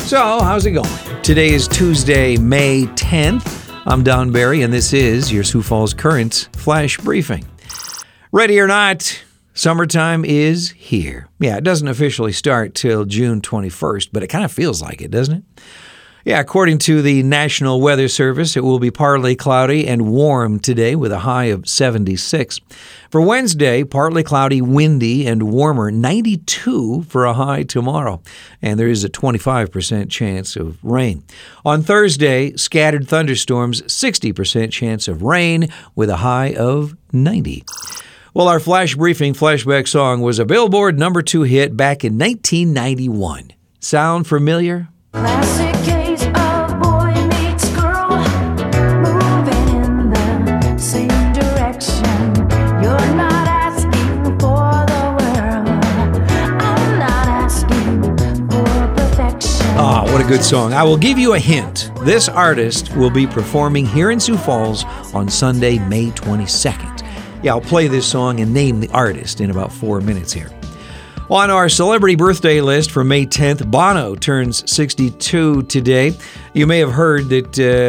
So, how's it going? Today is Tuesday, May 10th. I'm Don Barry, and this is your Sioux Falls Current Flash Briefing. Ready or not, summertime is here. Yeah, it doesn't officially start till June 21st, but it kind of feels like it, doesn't it? Yeah, according to the National Weather Service, it will be partly cloudy and warm today with a high of 76. For Wednesday, partly cloudy, windy, and warmer, 92 for a high tomorrow. And there is a 25% chance of rain. On Thursday, scattered thunderstorms, 60% chance of rain with a high of 90. Well, our Flash Briefing flashback song was a Billboard #2 hit back in 1991. Sound familiar? Classic case of boy meets girl, moving in the same direction. You're not asking for the world. I'm not asking for perfection. Ah, what a good song. I will give you a hint. This artist will be performing here in Sioux Falls on Sunday, May 22nd. Yeah, I'll play this song and name the artist in about 4 minutes here. On our celebrity birthday list for May 10th, Bono turns 62 today. You may have heard that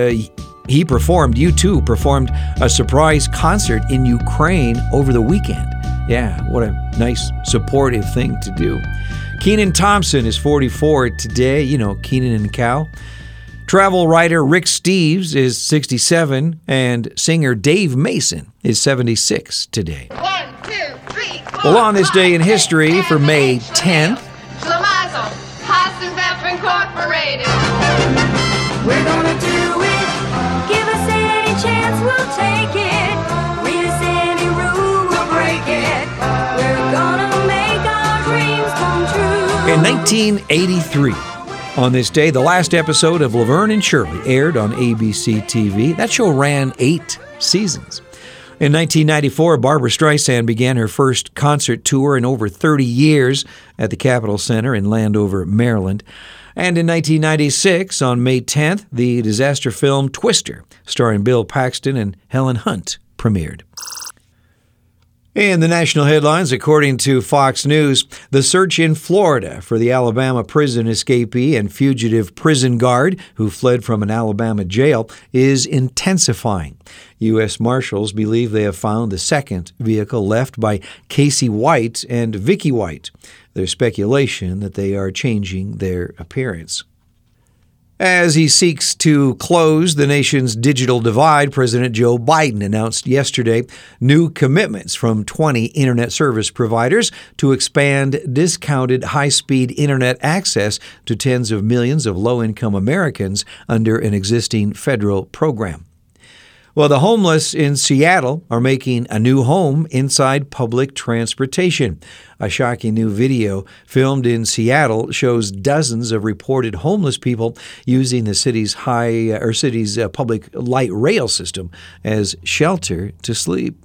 U2 performed a surprise concert in Ukraine over the weekend. Yeah, what a nice, supportive thing to do. Kenan Thompson is 44 today. You know, Kenan and Cal. Travel writer Rick Steves is 67, and singer Dave Mason is 76 today. 1, 2, 3, 4. Well, on this day in history for May 10th, Schlemazel, Hassenpfeffer Incorporated. We're gonna do it. Give us any chance, we'll take it. Read us any rule, we'll break it. We're gonna make our dreams come true. in 1983, on this day, the last episode of Laverne and Shirley aired on ABC TV. That show ran 8 seasons. In 1994, Barbra Streisand began her first concert tour in over 30 years at the Capitol Center in Landover, Maryland. And in 1996, on May 10th, the disaster film Twister, starring Bill Paxton and Helen Hunt, premiered. In the national headlines, according to Fox News, the search in Florida for the Alabama prison escapee and fugitive prison guard who fled from an Alabama jail is intensifying. U.S. Marshals believe they have found the second vehicle left by Casey White and Vicky White. There's speculation that they are changing their appearance. As he seeks to close the nation's digital divide, President Joe Biden announced yesterday new commitments from 20 internet service providers to expand discounted high-speed internet access to tens of millions of low-income Americans under an existing federal program. Well, the homeless in Seattle are making a new home inside public transportation. A shocking new video filmed in Seattle shows dozens of reported homeless people using the city's public light rail system as shelter to sleep.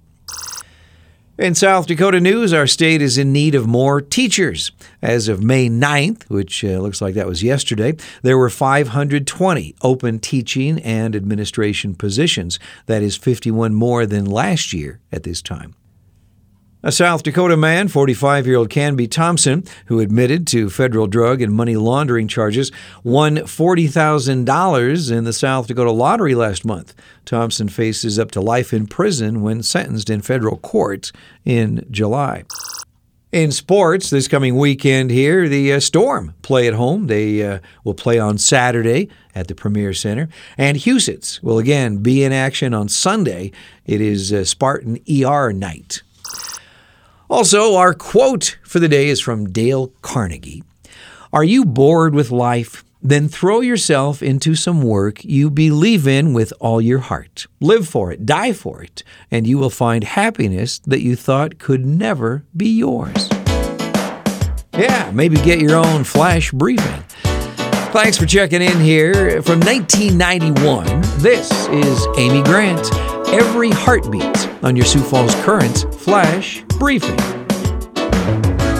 In South Dakota news, our state is in need of more teachers. As of May 9th, which looks like that was yesterday, there were 520 open teaching and administration positions. That is 51 more than last year at this time. A South Dakota man, 45-year-old Canby Thompson, who admitted to federal drug and money laundering charges, won $40,000 in the South Dakota lottery last month. Thompson faces up to life in prison when sentenced in federal court in July. In sports, this coming weekend here, the Storm play at home. They will play on Saturday at the Premier Center. And Huset's will again be in action on Sunday. It is Spartan ER night. Also, our quote for the day is from Dale Carnegie. Are you bored with life? Then throw yourself into some work you believe in with all your heart. Live for it, die for it, and you will find happiness that you thought could never be yours. Yeah, maybe get your own flash briefing. Thanks for checking in here. From 1991, this is Amy Grant. Every heartbeat on your Sioux Falls Current Flash Briefing.